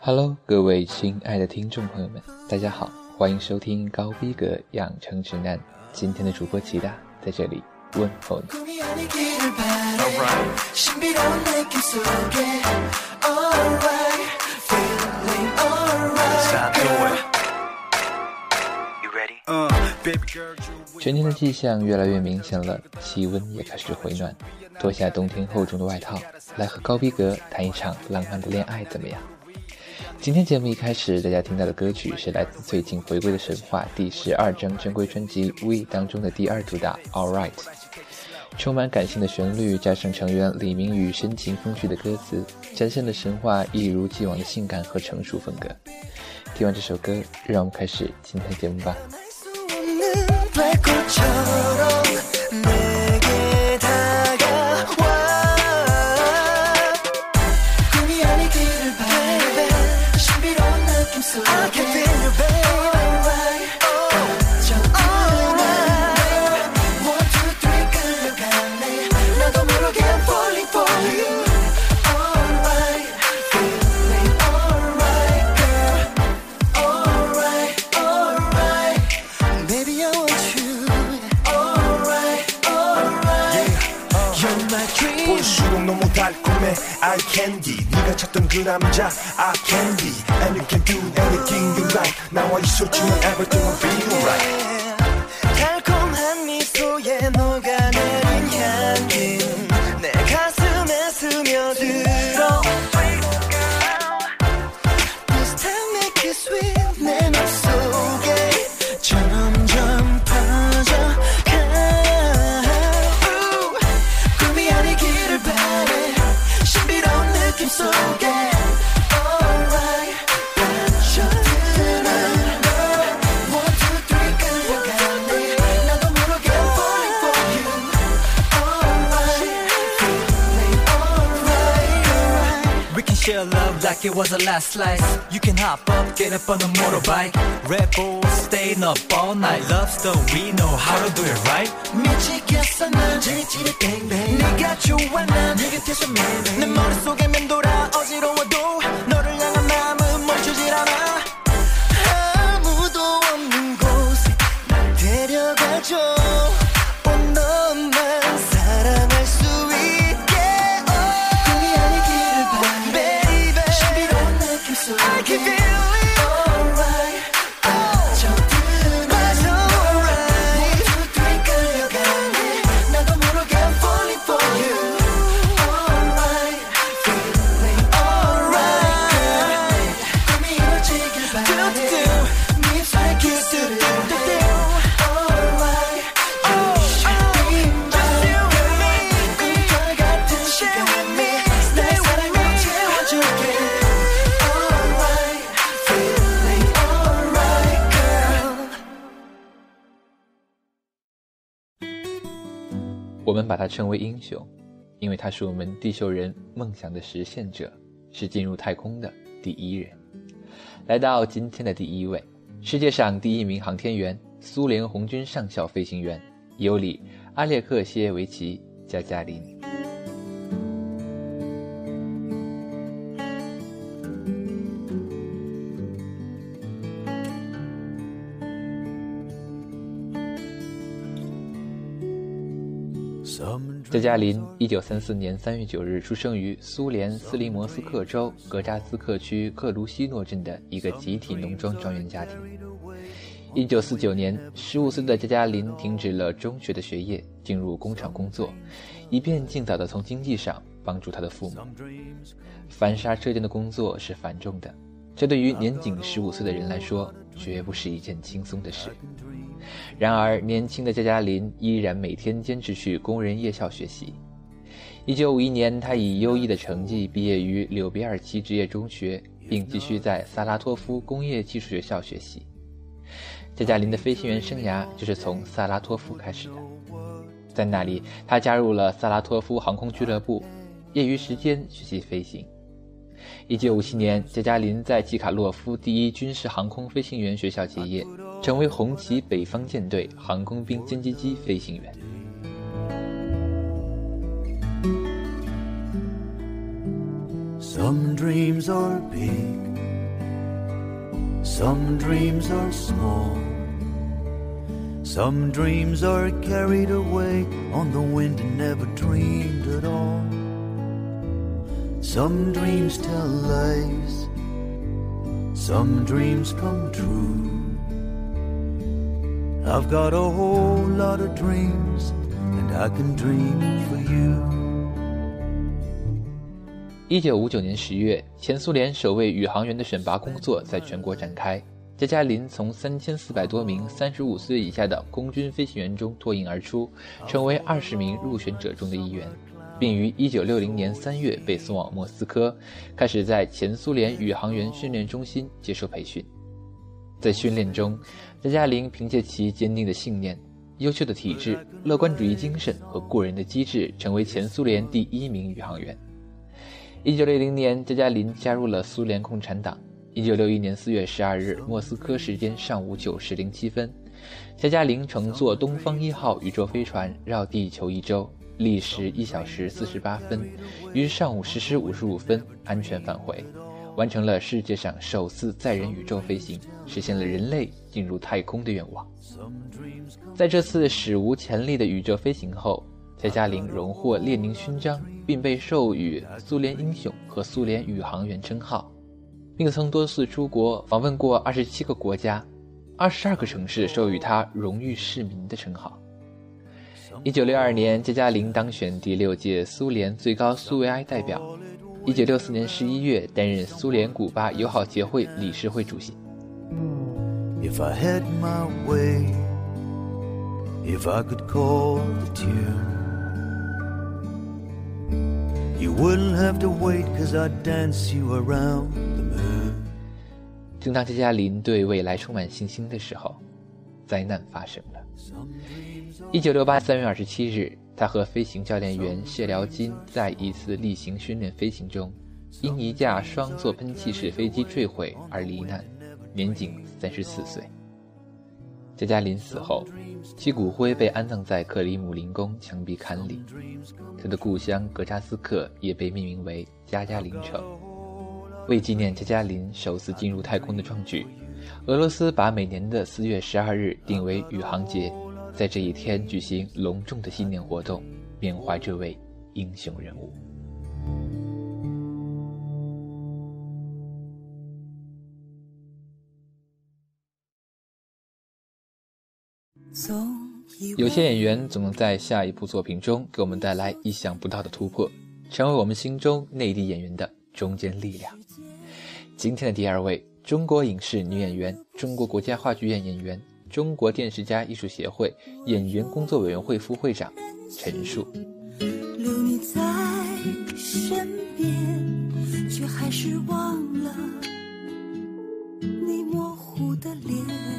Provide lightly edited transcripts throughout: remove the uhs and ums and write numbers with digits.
Hello， 各位亲爱的听众朋友们，大家好，欢迎收听高逼格养成指南。今天的主播齐大在这里问候你。春天的迹象越来越明显了，气温也开始回暖，脱下冬天厚重的外套，来和高逼格谈一场浪漫的恋爱怎么样？今天节目一开始大家听到的歌曲是来自最近回归的神话第12张珍贵专辑 We 当中的第2主打 Alright， 充满感性的旋律加上成员李明宇深情风趣的歌词，展现了神话一如既往的性感和成熟风格。听完这首歌，让我们开始今天的节目吧。 eye candy 네가 찾던 그 남자 I candy and you can do anything you like 나와 있어주면 everything will be alright 달콤한 미소에 녹아내린 향기 내 가슴에 스며들어 This time make it sweet 내 맘속에 점점 퍼져가 꿈이 아니기를 바래 신비로운 느낌 속에 Alright 빠져드는 널 1, 2, 3 끌려가네 나도 모르게 I'm falling for you Alright feeling alright We can share love like it was a last slice You can hop up, get up on a motorbike Red Bull, staying up all night Love story, know how to do it right 미치겠어 난 지릿지릿 뱅뱅 네가 좋아 난 네 곁에서 매일 내 머릿속에 맴돌아 어지러워도 너를 향한 마음은 멈추질 않아 아무도 없는 곳에 날 데려가줘 온 너만 사랑할 수 있게 꿈이 아니기를 바래 baby 신비로운 느낌 속에 I can feel it alright 빠져드는 alright 1, 2, 3 끌려가네 나도 모르게 I'm falling for you alright feeling alright 꿈이 이루어지길 바래 밉살의 키스를 alright just you and me 꿈결 같은 시간 내 사랑으로 채워줄게 alright feeling alright girl 我们把它称为英雄，因为他是我们地球人梦想的实现者，是进入太空的第一人。来到今天的第1位，世界上第1名航天员，苏联红军上校飞行员尤里·阿列克谢耶维奇·加加林。加加林1934年3月9日出生于苏联斯林摩斯克州格扎斯克区克卢西诺镇的一个集体农庄庄园家庭。1949年，15岁的加加林停止了中学的学业，进入工厂工作，以便尽早地从经济上帮助他的父母。翻砂车间的工作是繁重的，这对于年仅15岁的人来说，绝不是一件轻松的事。然而年轻的加加林依然每天坚持去工人夜校学习。1951年，他以优异的成绩毕业于柳别尔奇职业中学，并继续在萨拉托夫工业技术学校学习。加加林的飞行员生涯就是从萨拉托夫开始的，在那里他加入了萨拉托夫航空俱乐部，业余时间学习飞行。1957年，加加林在季卡洛夫第1军事航空飞行员学校结业，成为红旗北方舰队航空兵歼击机飞行员。 Some dreams are big, Some dreams are small, some dreams are carried away on the wind and never dreamed at all. Some dreams tell lies, some dreams come true. I've got a whole lot of dreams and I can dream for you. 1959年10月，前苏联首位宇航员的选拔工作在全国展开。加加林从3400多名35岁以下的空军飞行员中脱颖而出，成为20名入选者中的一员，并于1960年3月被送往莫斯科，开始在前苏联宇航员训练中心接受培训。在训练中，加加林凭借其坚定的信念、优秀的体质、乐观主义精神和过人的机智，成为前苏联第1名宇航员。1960年，加加林加入了苏联共产党。1961年4月12日，莫斯科时间上午9时07分，加加林乘坐东方1号宇宙飞船绕地球1周，历时1小时48分，于上午10时55分安全返回，完成了世界上首次载人宇宙飞行，实现了人类进入太空的愿望。在这次史无前例的宇宙飞行后，加加林荣获列宁勋章，并被授予苏联英雄和苏联宇航员称号，并曾多次出国访问过27个国家，22个城市授予他荣誉市民的称号。1962年，加加林当选第6届苏联最高苏维埃代表。1964年11月，担任苏联古巴友好协会理事会主席。 If I had my way, if I could call the tune, you wouldn't have to wait 'cause I'd dance you around the moon. 正当加加林对未来充满信心的时候，灾难发生了。1968年3月27日，他和飞行教练员谢辽金在一次例行训练飞行中，因一架双座喷气式飞机坠毁而罹难，年仅34岁。加加林死后，其骨灰被安葬在克里姆林宫墙壁龛里，他的故乡格扎斯克也被命名为加加林城。为纪念加加林首次进入太空的壮举，俄罗斯把每年的4月12日定为宇航节，在这一天举行隆重的纪念活动，缅怀这位英雄人物。有些演员总能在下一部作品中给我们带来意想不到的突破，成为我们心中内地演员的中坚力量。今天的第2位，中国影视女演员，中国国家话剧院演员，中国电视家艺术协会演员工作委员会副会长陈数。 留你在身边，却还是忘了你模糊的脸。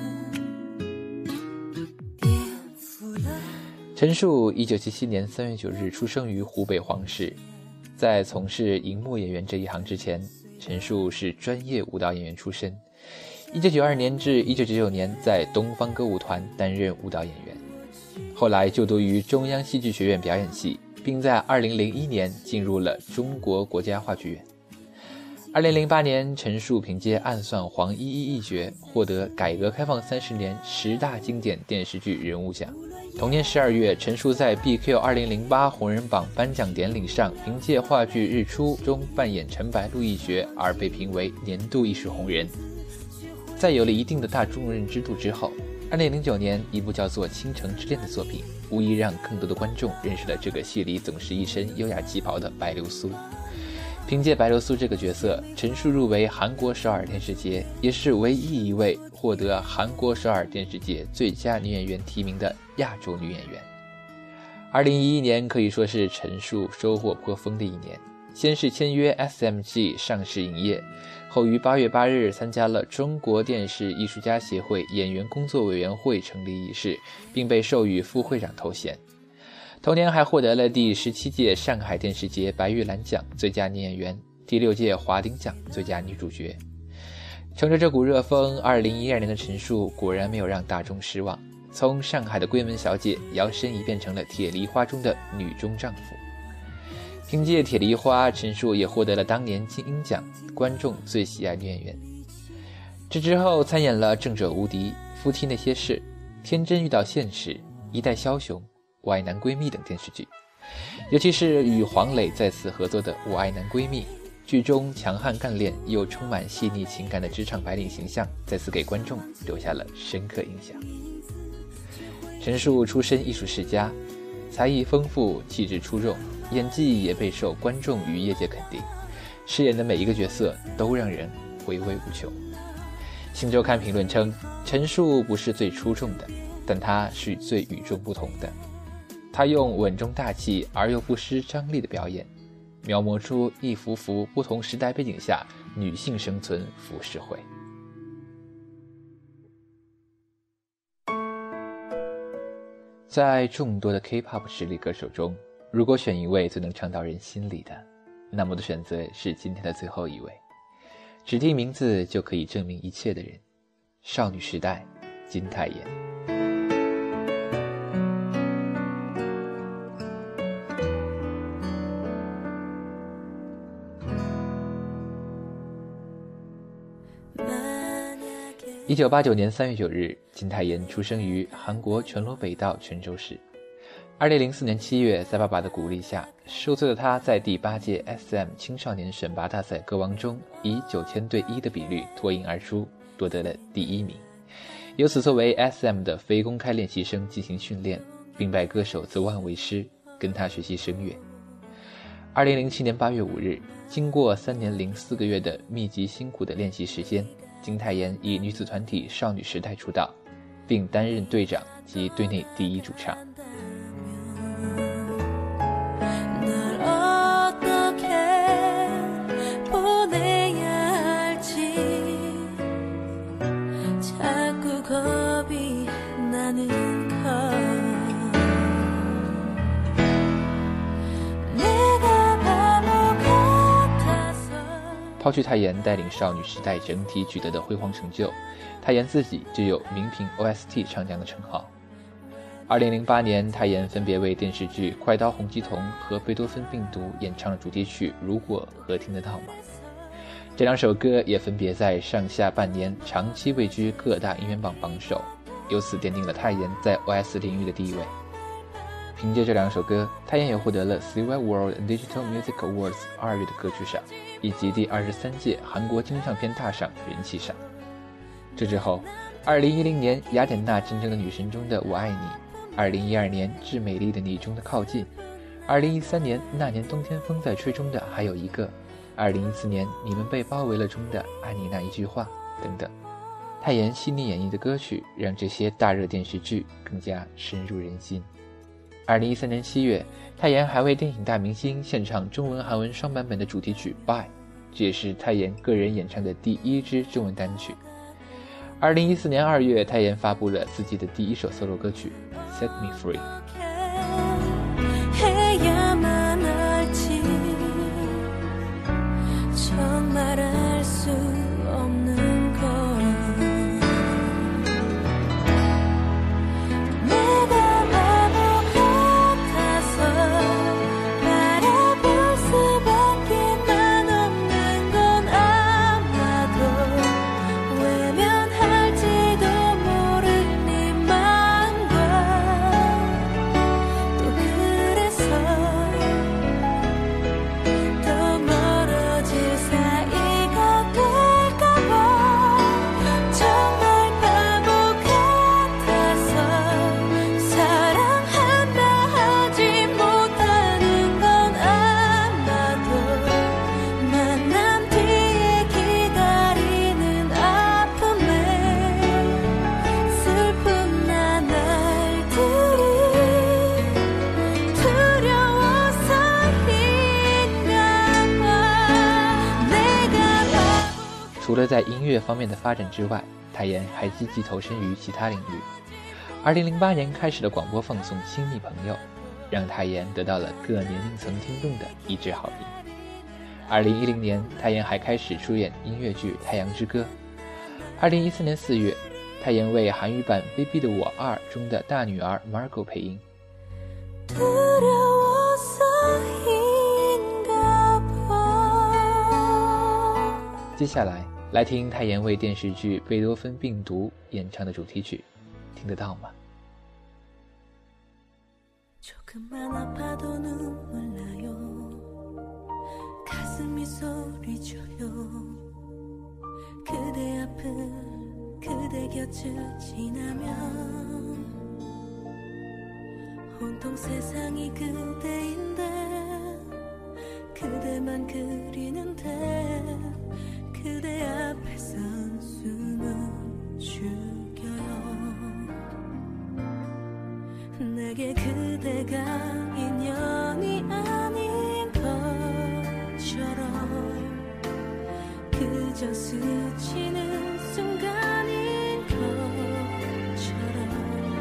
陈数1977年3月9日出生于湖北黄石。在从事荧幕演员这一行之前，陈数是专业舞蹈演员出身。1992年至1999年在东方歌舞团担任舞蹈演员，后来就读于中央戏剧学院表演系，并在2001年进入了中国国家话剧院。2008年，陈数凭借《暗算黄依依》一角获得改革开放30年10大经典电视剧人物奖。同年12月，陈数在 BQ 2008红人榜颁奖典礼上，凭借话剧《日出》中扮演陈白露一角而被评为年度艺术红人。在有了一定的大众认知度之后，2009年一部叫做《倾城之恋》的作品，无疑让更多的观众认识了这个戏里总是一身优雅旗袍的白流苏。凭借白流苏这个角色，陈数入围韩国首尔电视节，也是唯一一位获得韩国首尔电视节最佳女演员提名的亚洲女演员。2011年可以说是陈数收获颇丰的一年，先是签约 SMG 上市影业，后于8月8日参加了中国电视艺术家协会演员工作委员会成立仪式，并被授予副会长头衔。同年还获得了第17届上海电视节白玉兰奖最佳女演员，第6届华鼎奖最佳女主角。乘着这股热风，2012年的陈数果然没有让大众失望，从上海的闺门小姐摇身一变成了铁梨花中的女中丈夫。凭借铁梨花，陈数也获得了当年金鹰奖观众最喜爱女演员。 这之后参演了《正者无敌》、夫妻那些事、天真遇到现实、一代枭雄、我爱男闺蜜等电视剧，尤其是与黄磊再次合作的《我爱男闺蜜》，剧中强悍干练又充满细腻情感的职场白领形象再次给观众留下了深刻印象。陈数出身艺术世家，才艺丰富，气质出众，演技也备受观众与业界肯定，饰演的每一个角色都让人回味无穷。新周刊评论称，陈数不是最出众的，但他是最与众不同的。他用稳重大气而又不失张力的表演，描摹出一幅幅不同时代背景下女性生存浮世绘。在众多的 K-pop 实力歌手中，如果选一位最能唱到人心里的，那么我的选择是今天的最后一位，只听名字就可以证明一切的人，少女时代金泰妍。1989年3月9日，金泰妍出生于韩国全罗北道全州市。2004年7月，在爸爸的鼓励下，10岁的他在第8届 SM 青少年选拔大赛歌王中，以9000对1的比率脱颖而出，夺得了第1名。由此作为 SM 的非公开练习生进行训练，并拜歌手The One为师，跟他学习声乐。2007年8月5日，经过3年04个月的密集辛苦的练习时间，金泰妍以女子团体少女时代出道，并担任队长及队内第一主唱。抛去泰妍带领少女时代整体取得的辉煌成就，泰妍自己就有名凭 OST 唱将的称号。2008年，泰妍分别为电视剧《快刀洪吉童》和《贝多芬病毒》演唱了主题曲《如果和听得到吗》。这两首歌也分别在上下半年长期位居各大音源榜榜首，由此奠定了泰妍在 OS 领域的地位。凭借这两首歌，泰妍也获得了 CY World Digital Music Awards 2月的歌曲赏，以及第23届韩国金唱片大赏人气赏。这之后，2010年雅典娜真正的女神中的我爱你，2012年致美丽的你中的靠近，2013年那年冬天风在吹中的还有一个，2014年你们被包围了中的爱你那一句话等等。泰妍细腻演绎的歌曲让这些大热电视剧更加深入人心。2013年7月，泰妍还为电影大明星献唱中文韩文双版本的主题曲 Bye， 这也是泰妍个人演唱的第1支中文单曲。2014年2月，泰妍发布了自己的第1首 solo 歌曲 Set Me Free。除了在音乐方面的发展之外，泰妍还积极投身于其他领域。2008年开始的广播放送《亲密朋友》，让泰妍得到了各年龄层听众的一致好评。2010年，泰妍还开始出演音乐剧《太阳之歌》。2014年4月，泰妍为韩语版《Baby 的我2》中的大女儿 Margot 配音。接下来来听太妍为电视剧《贝多芬病毒》演唱的主题曲，听得到吗？ 조금만 아파도 눈물 나요. 가슴이 소리쳐요. 그대 앞을 그대 곁을 지나면 온통 세상이 그대인데 그대만 그리는데 그대 앞에 선 숨은 죽여요. 내게 그대가 인연이 아닌 것처럼 그저 스치는 순간인 것처럼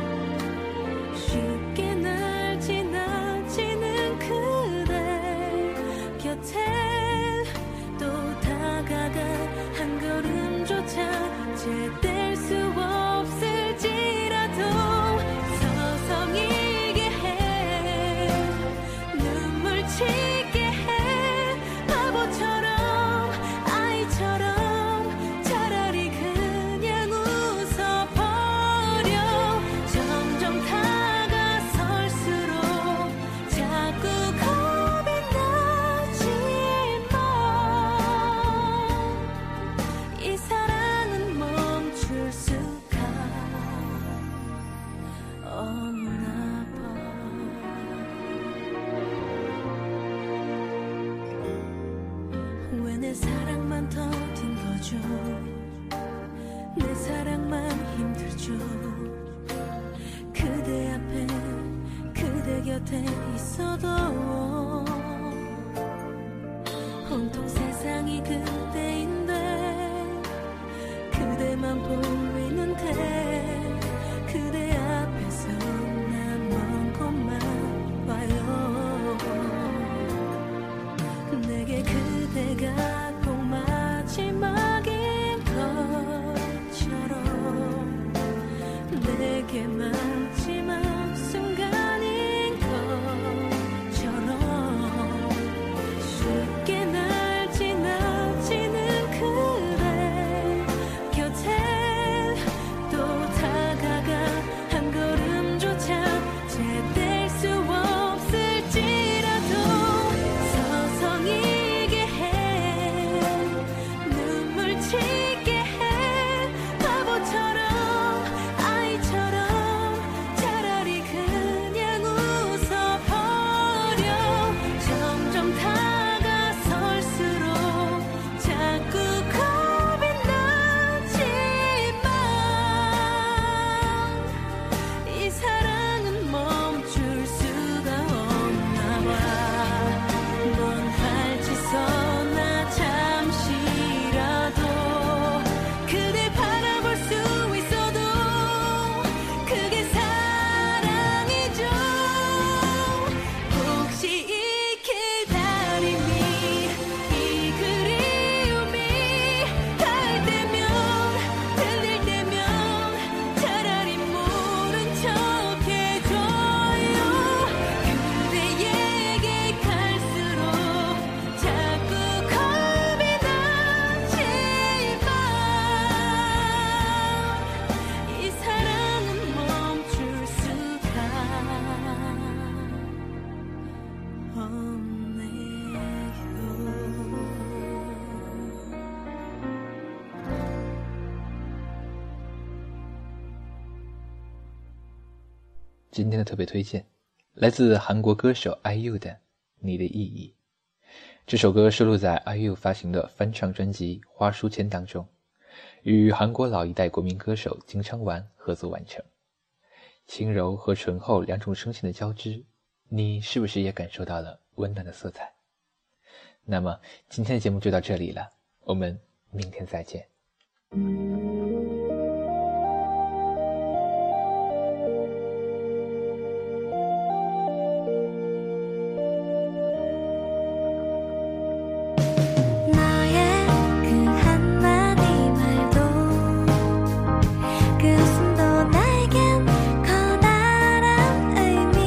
쉽게 날 지나치는 그대 곁에 또 다가가 한 걸음조차 제뗄 수 없을지라도 서성이게 해 눈물 치게 해 바보처럼 아이처럼 차라리 그냥 웃어버려 점점 다가설수록 자꾸 겁이 나지만 이 사랑은 멈출 수가 없나 봐. 왜 내 사랑만 더딘 거죠? 내 사랑만 힘들죠? 그대 앞에 그대 곁에 있어도 온통 세상이 그대인데 그대만 보이는데 그대 앞에서 난 먼 곳만 봐요. 내게 그대가 꼭 마지막인 것처럼 내게 마지막 순간인 것처럼 쉽게 날 지나치는 그대 곁에 또 다가가 한 걸음조차 제뗄 수 없을지라도 서성이게 해 눈물 치게 해 바보처럼 아이처럼 차라리 그냥 웃어버려 점점 다가설수록 자꾸 겁이 나지만 이 사랑은 멈출 수가 없나 봐. 넌 발치서나 잠시라도 그대 바라볼 수 있어도 그게 사랑이죠. 혹시 이 기다림이 이 그리움이 닿을 때면 들릴 때면 차라리 모른 척 해줘요. 그대에게 갈수록 자꾸 겁이 나지만 이 사랑은 멈출 수가 없네요. 今天的特别推荐来自韩国歌手 IU 的《你的意义》。这首歌收录在 IU 发行的翻唱专辑《花书签》当中，与韩国老一代国民歌手金昌完合作完成。轻柔和醇厚两种声线的交织，你是不是也感受到了温暖的色彩？那么今天的节目就到这里了，我们明天再见。 너의 그 한마디 말도 그 웃음도 나에겐 커다란 의미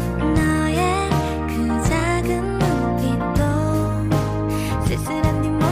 너의 그 작은 눈빛도 쓸쓸한 뒷모습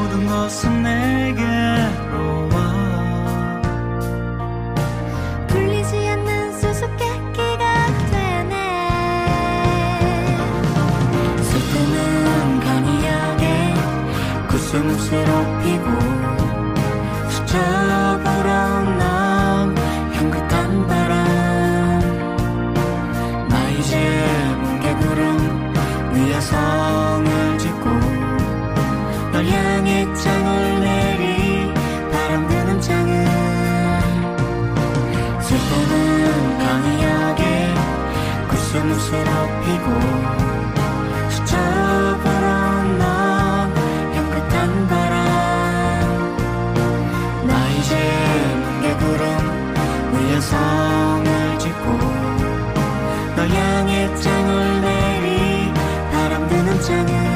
모든 것은 내게로 와 풀리지 않는 수수께끼가 되네 쓸데는 강이하게 구슬무쇠로 피고 스쳐보러 난 향긋한 바람 나 이제 뭉게구름 위에 성을 짓고 널 향해 장을 내리 바람 드는 창을 쓸데는 강이하게 구슬무쇠로 피고 스쳐보러 난 향긋한 바람 나 이제 뭉게구름 위에 성을 짓고 널 향해 장을 내리 바람 드는 창을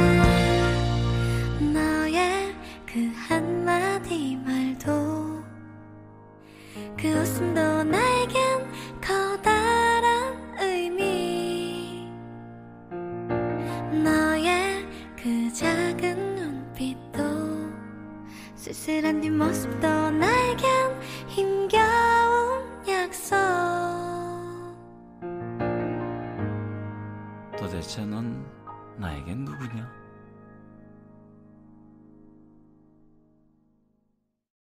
너의 그 한마디 말도 그 웃음도 나에겐 커다란 의미 너의 그 작은 눈빛도 쓸쓸한 뒷모습도 나에겐 힘겨운 약속 도대체 넌 나에겐 누구냐?